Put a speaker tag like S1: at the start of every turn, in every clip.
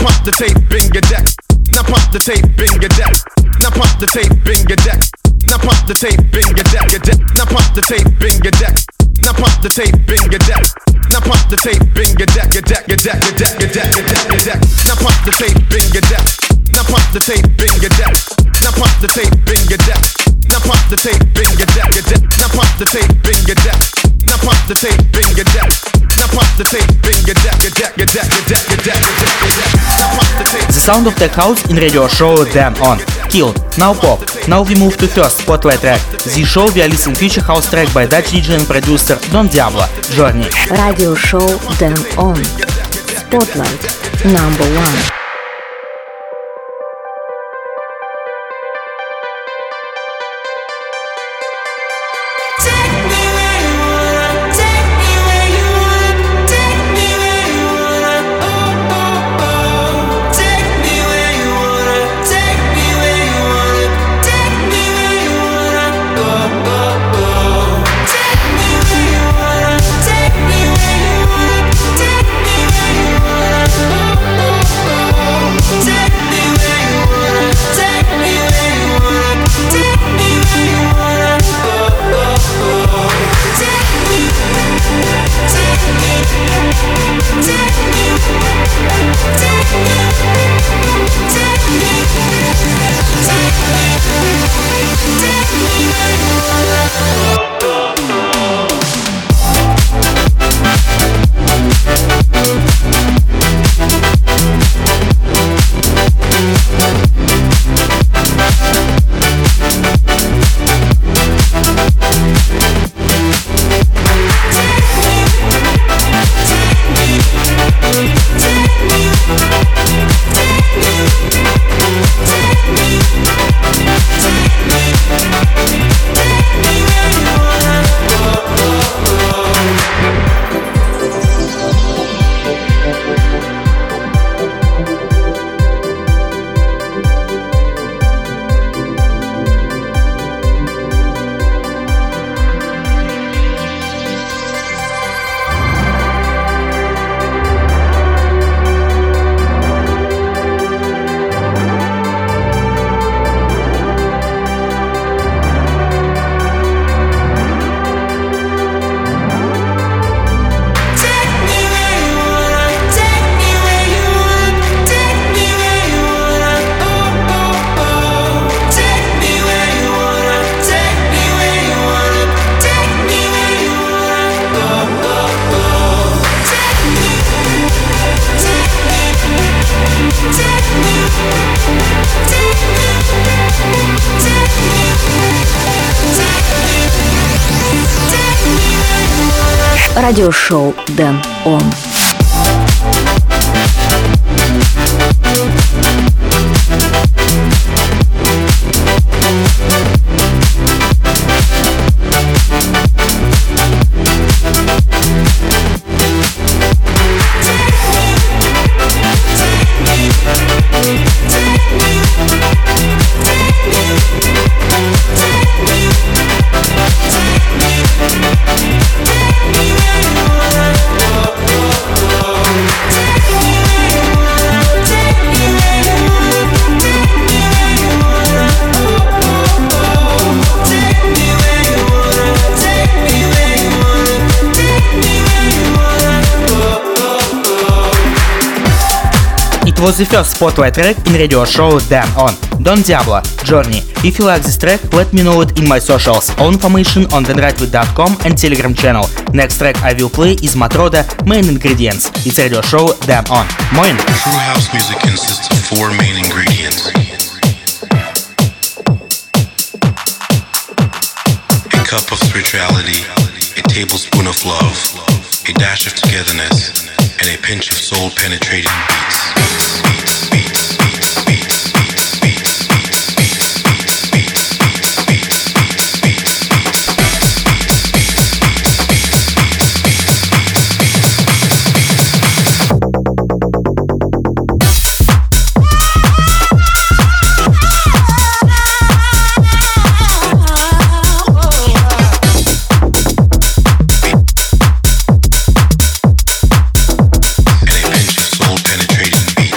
S1: pump the tape in your deck. Now pump the tape in your deck. Now pump the tape in your deck. Now pump the tape in your deck. Now pump the tape in your deck. Now pump the tape in your deck. Now pump the tape in your deck. Now pump the tape in your deck. Now pump the tape in your deck. Now pump the tape in your deck. Now pump the tape in your deck. Now pump the tape in your deck. Now pump the tape in your deck. Now pump the tape in your deck.
S2: The sound of tech house in radio show Dan On. Kill. Now pop. Now we move to first spotlight track. The show we are listening future house track by Dutch DJ and producer Don Diablo, Journey.
S3: Radio show Dan On. Spotlight number 1. Радиошоу Dan On.
S2: It was the first spotlight track in radio show Dan On. Don Diablo, Journey. If you like this track, let me know it in my socials. All information on denrightwith.com and Telegram channel. Next track I will play is Matroda, Main Ingredients. It's radio show Dan On. Moin!
S4: True house music consists of 4 main ingredients. A cup of spirituality, a tablespoon of love, a dash of togetherness, and a pinch of soul-penetrating beats. And a pinch of soul-penetrating beats.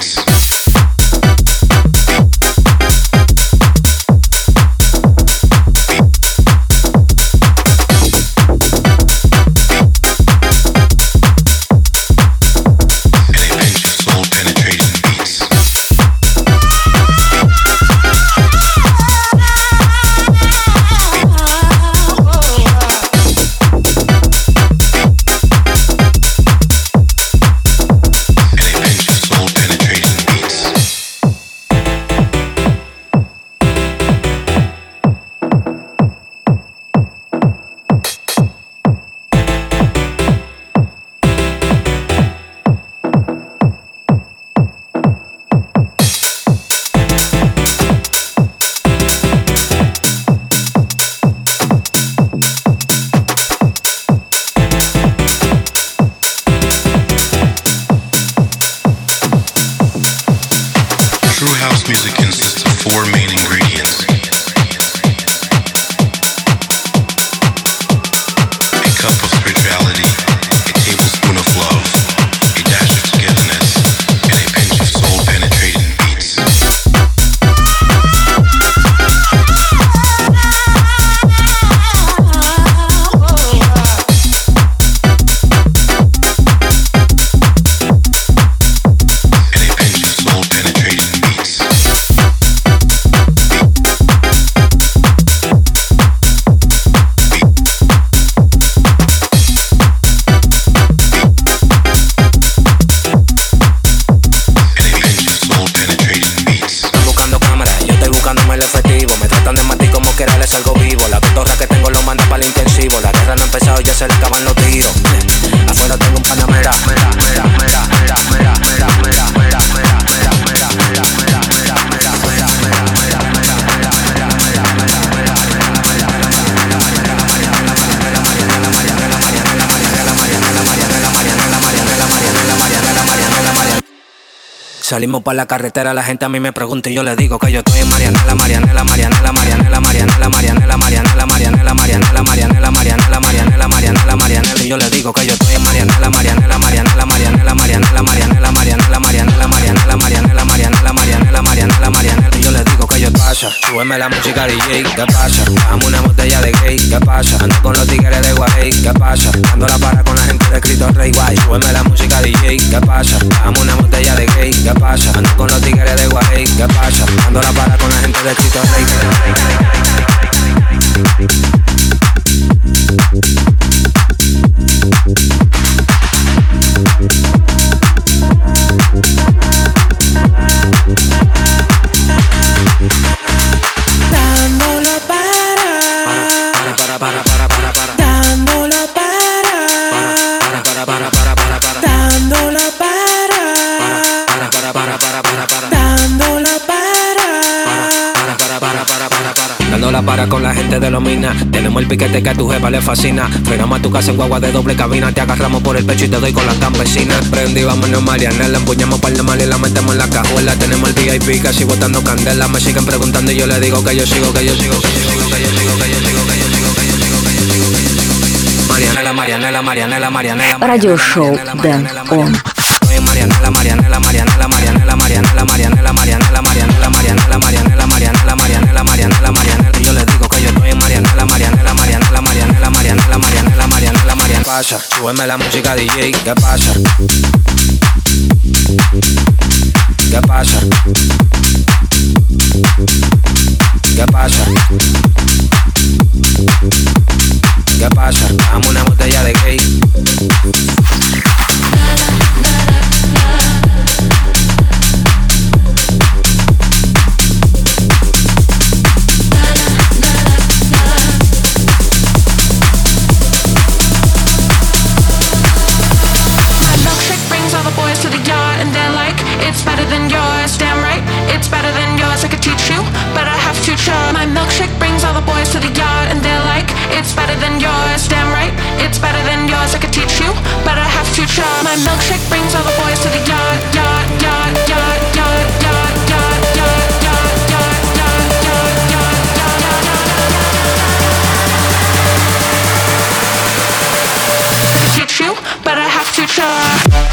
S5: salgo vivo. La cotorra que tengo lo manda para el intensivo. La guerra no ha empezado y ya se le acaban los tiros. Afuera tengo un panamera. Salimos pa' la carretera, la gente a mí me pregunta y yo le digo que yo estoy en Marianela, Marianela, Marianela, Marianela, Marianela, Marianela, Marianela, Marianela, Marianela, Marianela, Marianela, Marianela, Marianela, Marianela, y yo le digo que yo estoy en Marianela, Marianela, Marianela, Marianela, Marianela, Marianela, Marianela, Marianela, Marianela, Marianela, Marianela, Marianela, Marianela, Marianela, y yo le digo que yo pasa, súbeme la música DJ, ¿qué pasa? Dame una botella de gay, ¿qué pasa? Ando con los tigres de Guay, ¿qué pasa? Dando la para con la gente de Cristo Rey Guay, súbeme la música DJ, ¿qué pasa? Dame una botella de gay, ¿qué pasa? Ando con los tigres de Guay, ¿qué pasa? Ando la para con la gente de Cristo Rey.
S6: Dándolo para. Dándolo para. Dándolo para. Dándolo para.
S5: Dando la para con la gente de los minas. Tenemos el piquete que a tu jefa le fascina. Frenamos a tu casa en guagua de doble cabina. Te agarramos por el pecho y te doy con las campesinas. Prendí, vámonos Marianela. Empuñamos par de mal y la metemos en la cajuela. Tenemos el VIP casi botando candela. Me siguen preguntando y yo le digo que yo sigo, que yo sigo, que yo sigo, que yo sigo, que yo sigo, que yo sigo, que yo sigo, que yo sigo. Marianela, Marianela, Marianela, Marianela.
S3: Радиошоу Дэн Он.
S5: Marianela, Marianela, Marianela, Marianela, Marianela, Marianela, Marianela, Marianela, Marianela, Marianela, Marianela, Marianela, Marianela, Marianela, y yo le digo que yo estoy en Marianela, Marianela, Marianela, Marianela, Marianela, Marianela, Marianela, Marianela, pasa, súbeme la música DJ, ¿qué pasa? ¿Qué pasa? ¿Qué pasa? ¿Qué pasa? Dame una botella de gay.
S6: My milkshake brings all the boys to the yard and they're like, it's better than yours, damn right, it's better than yours, I could teach you, but I have to try. My milkshake brings all the boys to the yard, yard, yard, yard, yard, yard, yard, yard, yard, yard, yard, yard, yard, yard, yard. Teach you, but I have to try.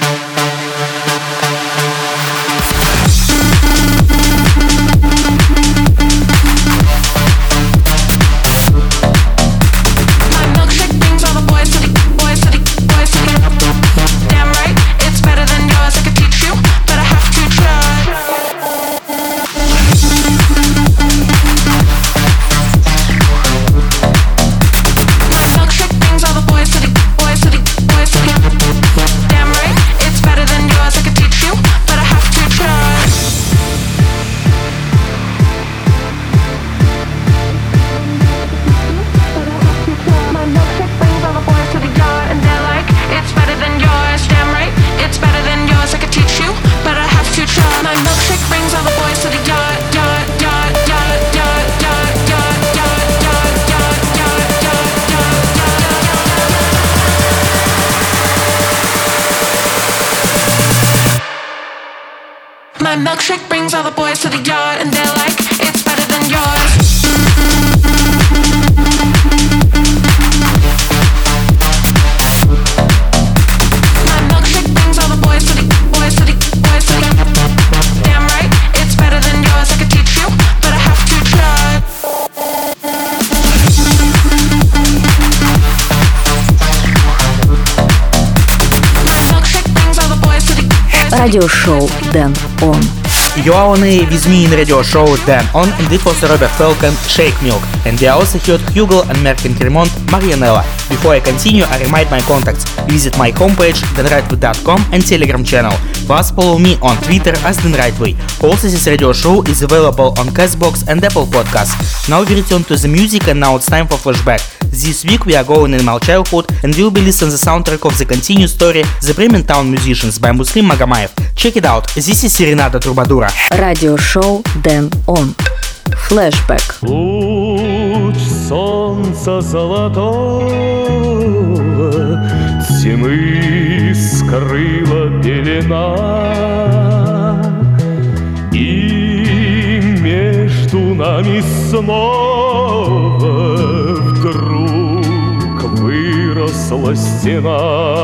S6: My milkshake brings all the boys to the yard and they're like, it's better than yours. My milkshake brings all the boys to the, boys to the, boys to the. Damn right, it's better than yours. I could teach you, but I have to try. My milkshake brings all the boys to the, boys to the.
S3: Радиошоу Дэн Он.
S2: You are on air with me in radio show Dan On, and it was Robert Falcon, Shake Milk, and we also heard Hugo and Merkin Cremont, Marianella. Before I continue, I remind my contacts. Visit my homepage danrightway.com and Telegram channel. Plus follow me on Twitter as Dan Rightway. Also, this radio show is available on Castbox and Apple Podcasts. Now we return to the music, and now it's time for flashback. This week we are going in my childhood and we'll be listening to the soundtrack of the continued story The Bremen Town Musicians by Muslim Magamayev. Check it out, this is Serenada Трубадура.
S3: Радиошоу Dan On. Flashback.
S7: Луч солнца золотого тьмы скрыла пелена, и между нами снова вдруг выросла стена.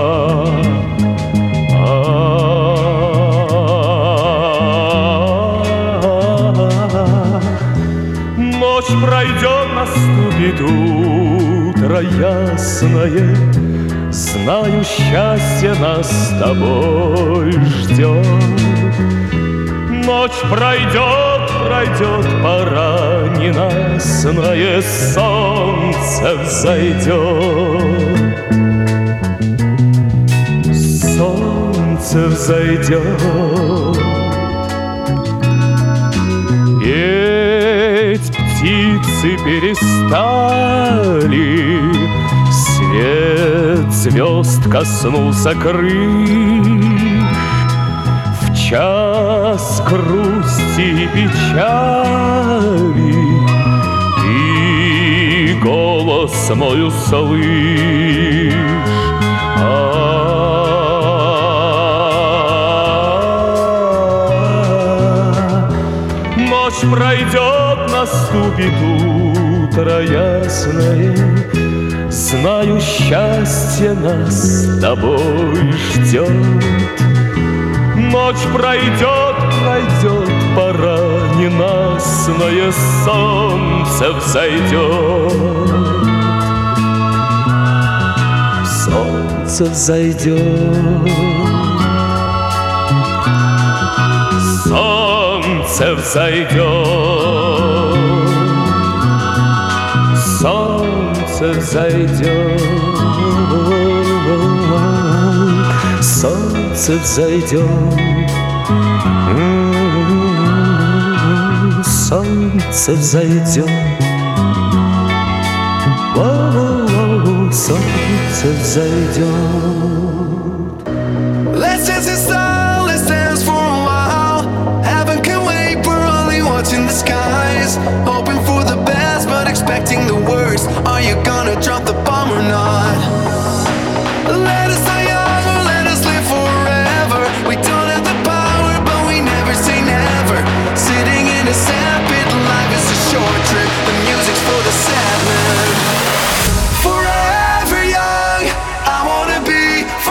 S7: Ночь пройдет, наступит утро ясное, знаю, счастье нас с тобой ждет. Ночь пройдет, пройдет, пора ненастное, солнце взойдет. Солнце взойдет. Петь птицы перестали, свет звезд коснулся крыш. В час грусти и печали ты голос мой услышь. Ночь пройдет, наступит утро ясное, знаю, счастье нас с тобой ждет. Ночь пройдет, пройдет, пора ненастное, солнце взойдет. Солнце взойдет. Солнце взойдет. Солнце взойдет. Солнце взойдет. Солнце взойдет. Солнце взойдет.
S8: Let's dance in style, let's dance for a while. Heaven can wait, we're only watching the skies. Hoping for the best, but expecting the worst. Are you gonna drop the bomb or not? Let us die young or let us live forever. We don't have the power, but we never say never. Sitting in a sandpit, life is a short trip. The music's for the sad man. Forever young, I wanna be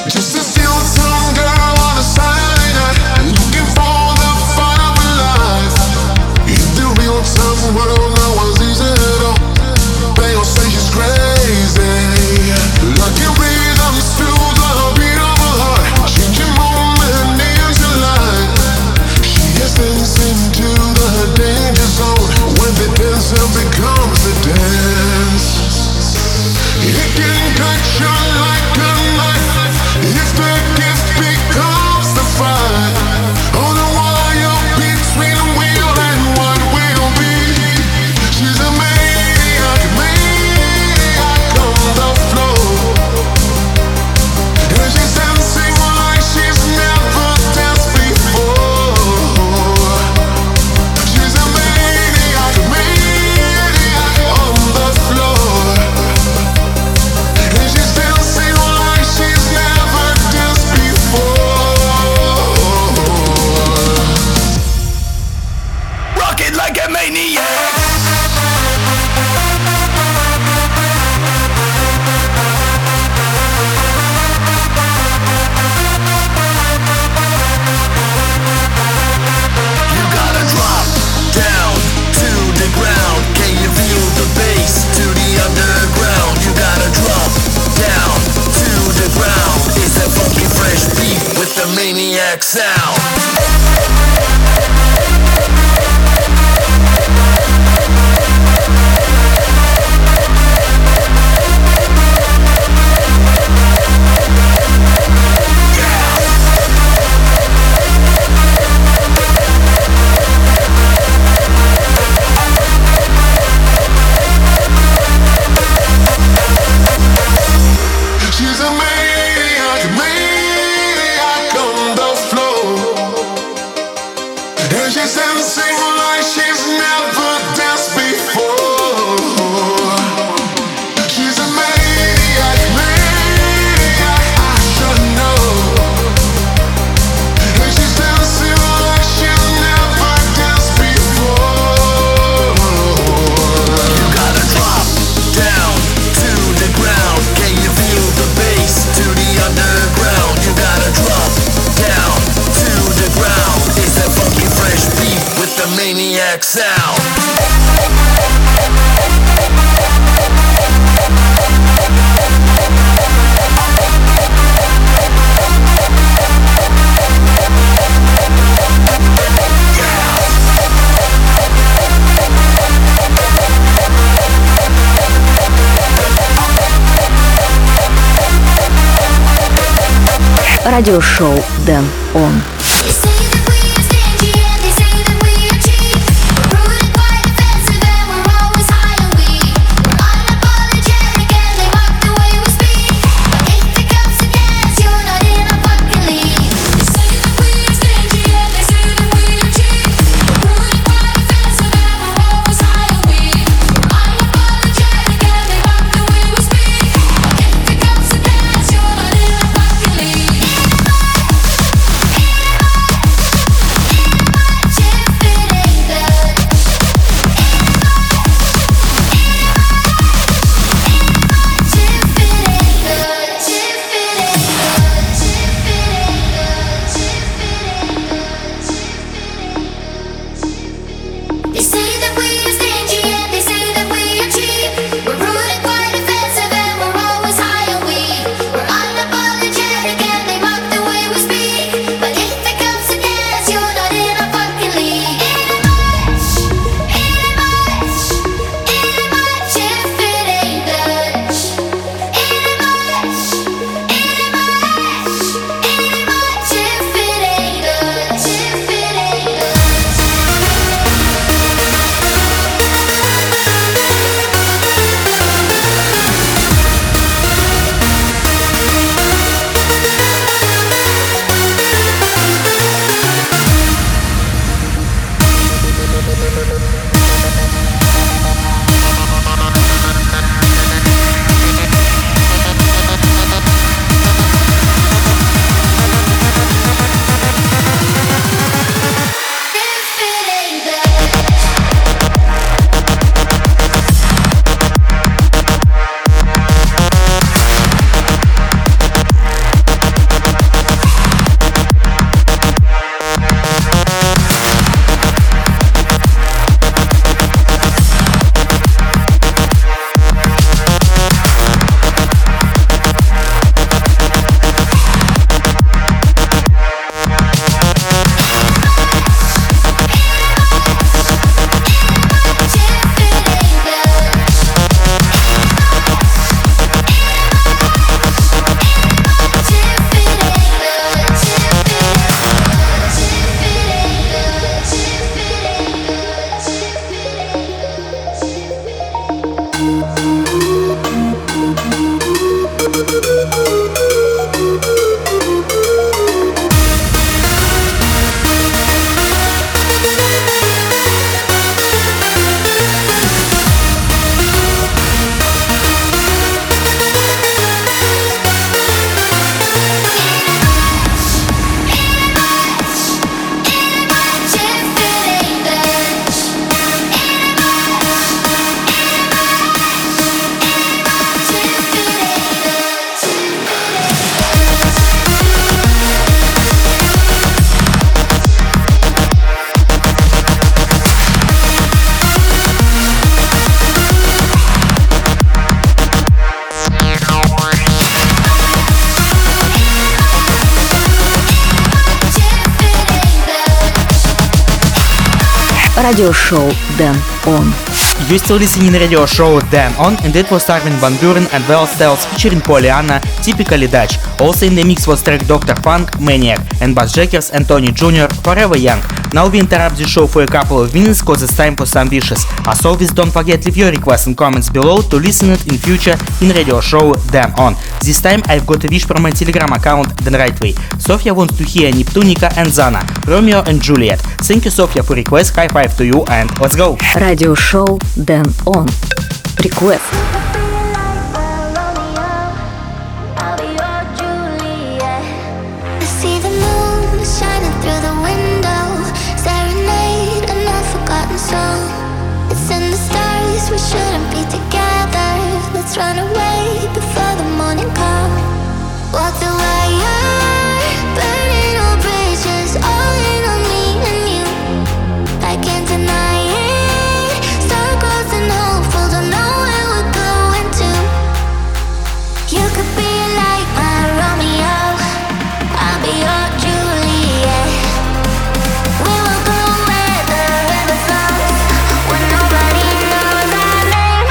S9: Just to see some girl on a Saturday night, looking for the fun of a life. In the real time world, no one's easy at all. They all say she's crazy, like a rhythm to the beat of a heart, changing moment into light. She is dancing to the danger zone. When the dancer becomes a dance, it can cut you like a knife if the gift becomes the fight. On the wire between will and what will be. She's a maniac, maniac on the floor, and she's dancing like she's never danced before. She's a maniac, maniac on the floor, and she's dancing like she's never danced before.
S8: Rock it like a maniac. You gotta drop down to the ground. Can you feel the bass to the underground? You gotta drop down to the ground. It's that funky fresh beat with the maniac sound.
S9: She's a maniac, maniac on the floor, and she's dancing like she's never danced before. She's a maniac, maniac, I should know, and she's dancing like she's never danced before.
S8: You gotta drop down to the ground. Can you feel the bass to the underground? You gotta drop down to the ground. It's that funky fresh beat with the maniac sound.
S3: Радиошоу Дэн Он.
S10: If
S3: радиошоу Дэн Он.
S2: You still listening radio show Dan On, and it was Armin van Buuren and Well Styles featuring Pollyanna, typically Dutch. Also in the mix was track Dr. Funk, Maniac, and Bassjackers and Tony Jr., Forever Young. Now we interrupt the show for a couple of minutes cause it's time for some wishes. As always, don't forget leave your requests and comments below to listen it in future in radio show Dan On. This time I've got a wish from my Telegram account The Right Way. Sofia wants to hear Neptunica and Zana, Romeo and Juliet. Thank you, Sofia, for request. High five to you and let's go.
S3: Радиошоу Дэн Он. Request.
S10: We shouldn't be together. Let's run away before the morning comes. Walk the wire, burning all bridges, all in on me and you. I can't deny it. Star-crossed and hopeful, don't know where we're going to. You could be like my Romeo, I'll be your Juliet. We will go where the river flows, when nobody knows our name.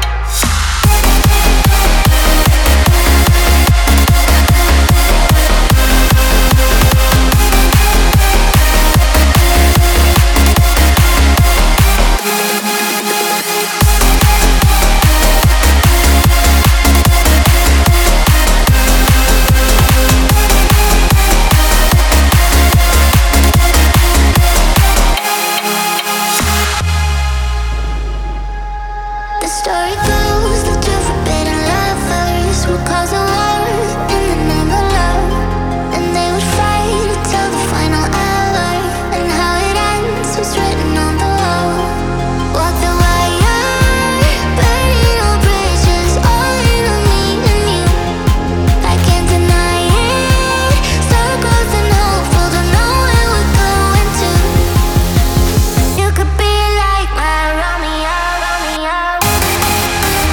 S10: The story goes that two forbidden lovers would cause a war in the name of love, and they would fight until the final hour, and how it ends was written on the wall. Walk the wire, burning all bridges, all in on me and you. I can't deny it. Star-crossed and hopeful, don't know where we're going to. You could be like my Romeo, Romeo.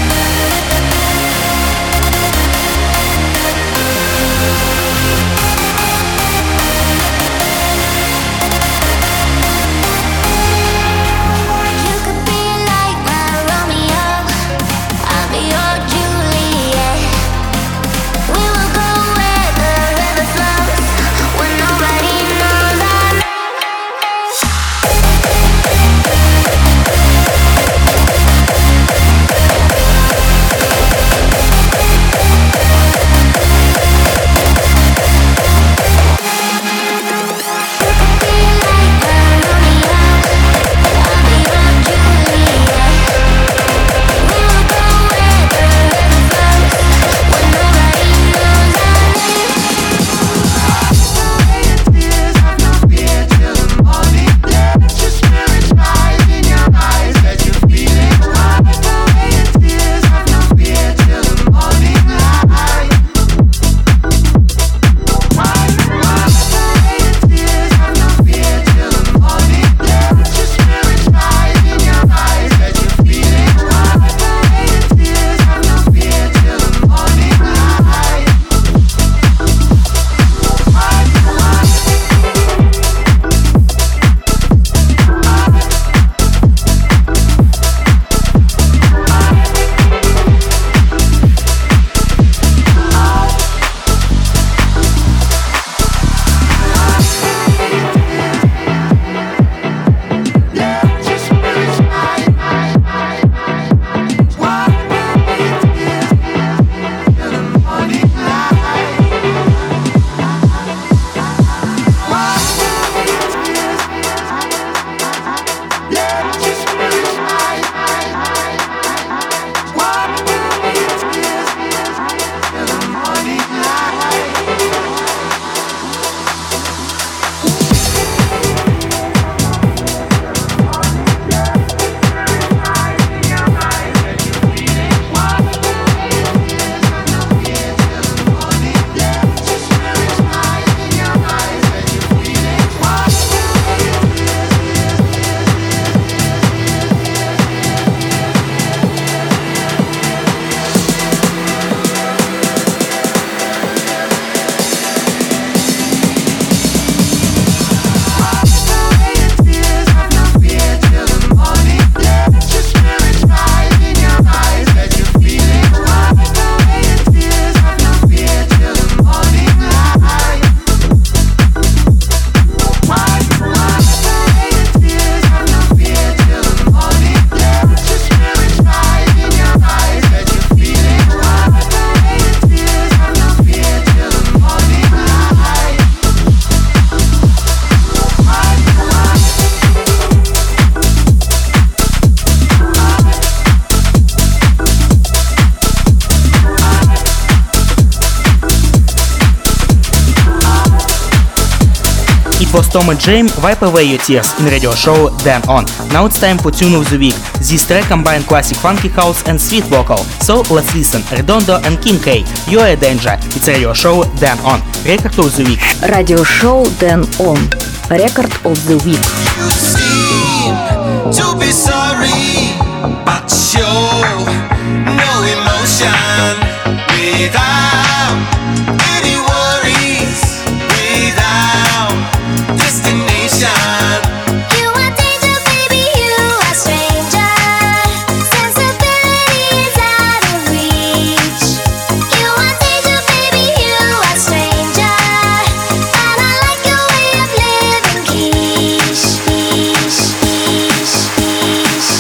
S2: Tom and Jane, Wipe Away Your Tears in radio show Dan On. Now it's time for Tune of the Week. This track combines classic funky house and sweet vocal. So let's listen. Redondo and Kim K. You're a Danger. It's radio show Dan On. Record of the Week.
S3: Радиошоу Dan On. Record of the Week.
S8: You seem to be sorry, but show no emotion without any worries, without destination.
S10: You are danger, baby, you are stranger. Sensibility is out of reach. You are danger, baby, you are stranger. And I like your way of living, quiche, quiche, quiche, quiche.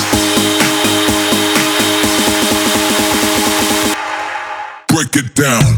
S9: Break it down.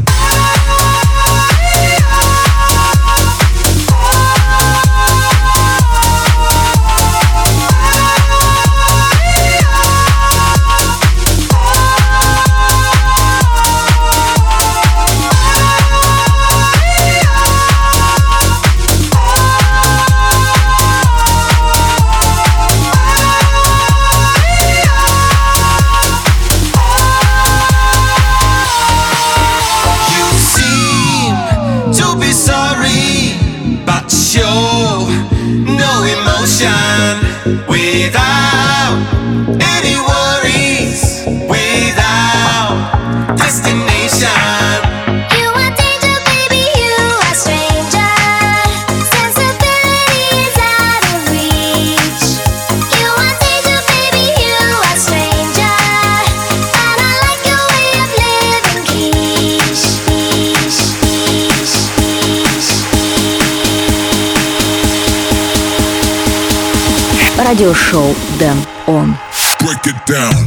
S8: You seem to be sorry, but show no emotion without any worries, without destination.
S10: You are danger, baby, you are stranger. Sensibility is out of reach. You are danger, baby, you are stranger. And I like your way of living, quiche, quiche, quiche, quiche.
S3: Радиошоу Dan On.
S9: Break it down.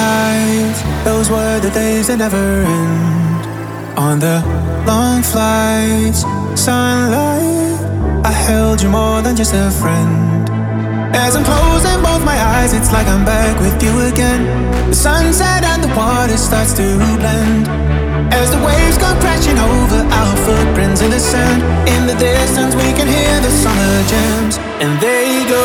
S11: nights, those were the days that never end. On the long flights, sunlight, I held you more than just a friend. As I'm closing both my eyes, it's like I'm back with you again. The sunset and the water starts to blend. As the waves go crashing over our footprints in the sand. In the distance we can hear the summer jams. And they go.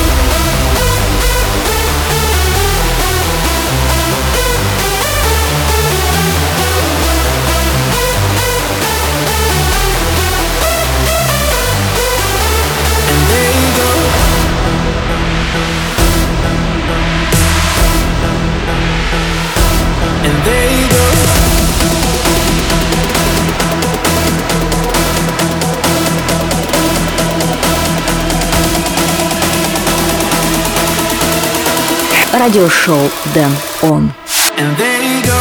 S3: Радиошоу Дэн Он.
S11: And there you go.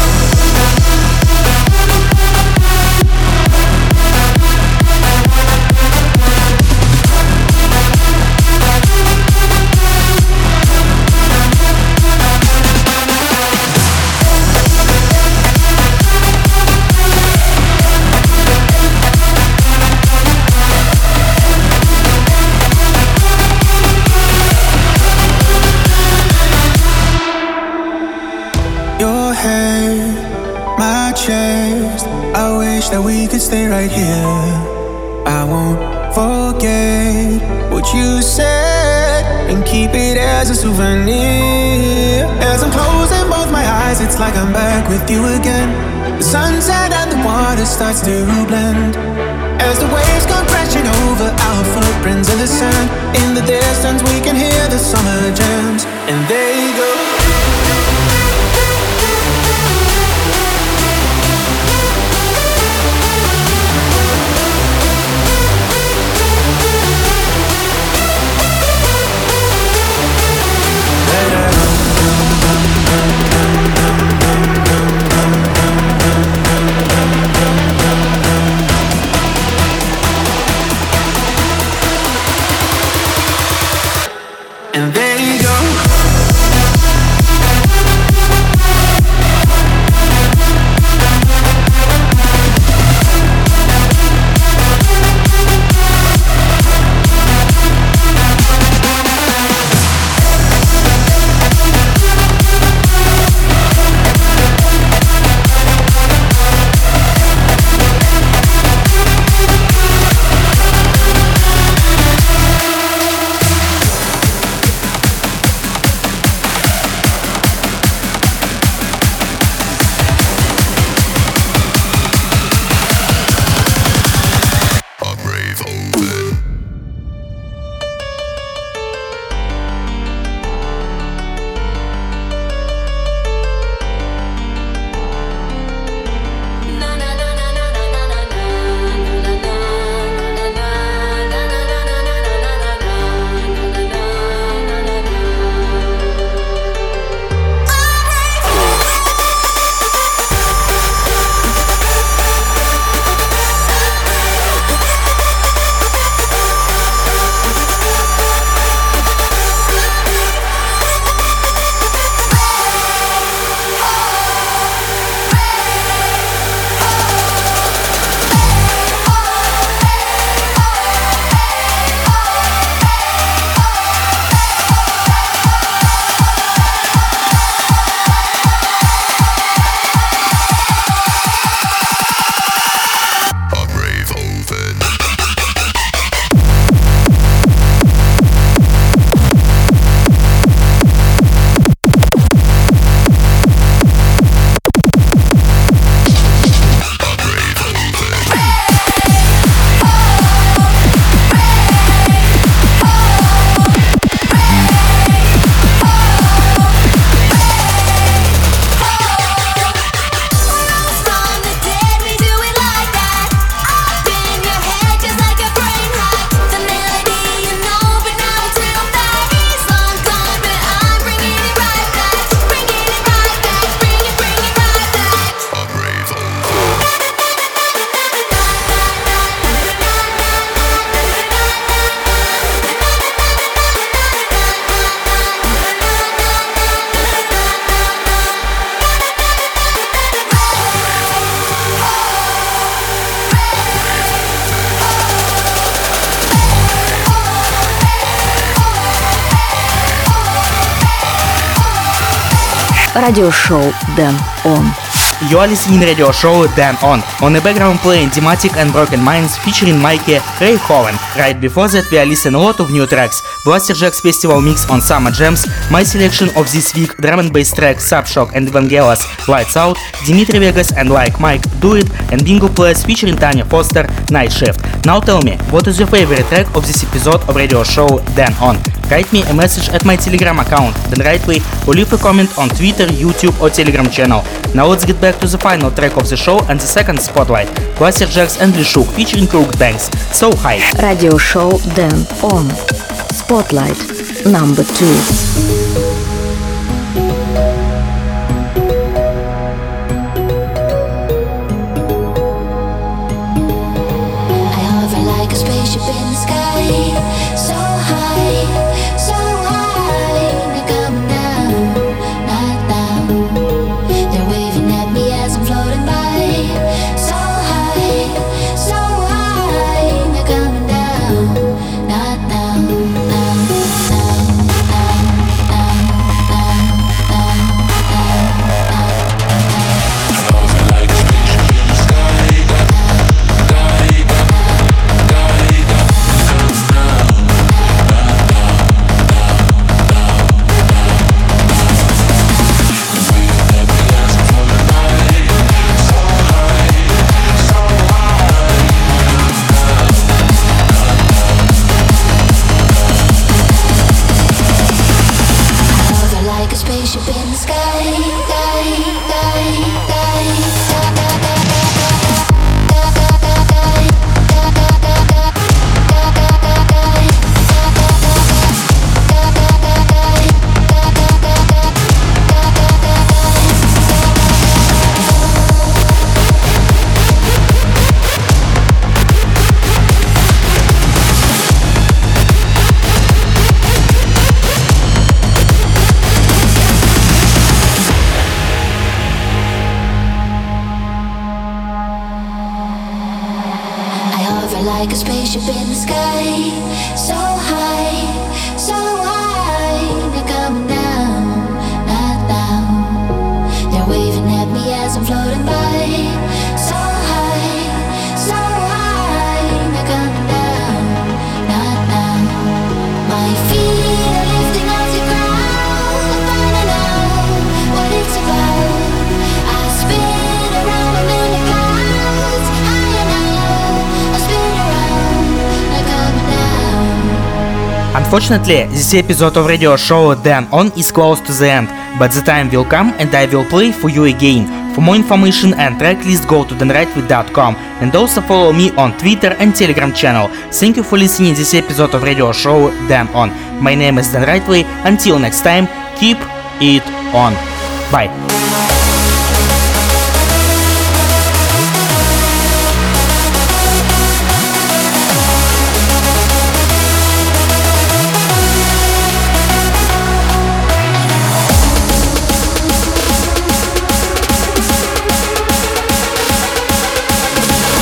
S11: That we could stay right here. I won't forget what you said and keep it as a souvenir. As I'm closing both my eyes, it's like I'm back with you again. The sunset and the water starts to blend. As the waves come crashing over our footprints in the sand. In the distance we can hear the summer jams. And they go. And there you go.
S3: Радиошоу Дэн Он.
S2: You are listening to radio show Dan On the background playing Dematic and Broken Minds featuring Mikey Ray Hoven. Right before that we are listening a lot of new tracks. Blaster Jack's festival mix on Summer Jams, my selection of this week, drum and bass track Subshock and Evangelos Lights Out, Dimitri Vegas and Like Mike Do It, and Bingo Players featuring Tanya Foster Night Shift. Now tell me, what is your favorite track of this episode of radio show Dan On? Write me a message at my Telegram account, Dan Rightway, or leave a comment on Twitter, YouTube or Telegram channel. Now let's get back to the final track of the show and the second spotlight. Blaster Jacks and Lishuk featuring Crooked Banks. So high.
S3: Радиошоу Дэн Он. Spotlight number 2.
S10: Like a spaceship in the sky, so high, so high. They're coming down, not now. They're waving at me as I'm floating by, so high, so high. They're coming down, not now. My feet are lifting off the ground. I'm finding out what it's about. I spin around, I'm in the clouds, higher now. I spin around, they're coming down.
S2: Unfortunately, this episode of radio show Dan On is close to the end, but the time will come and I will play for you again. For more information and track list, go to danrightway.com and also follow me on Twitter and Telegram channel. Thank you for listening to this episode of radio show Dan On. My name is Dan Rightway. Until next time, keep it on. Bye.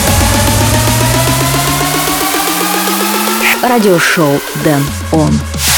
S3: Радиошоу Дэн Он.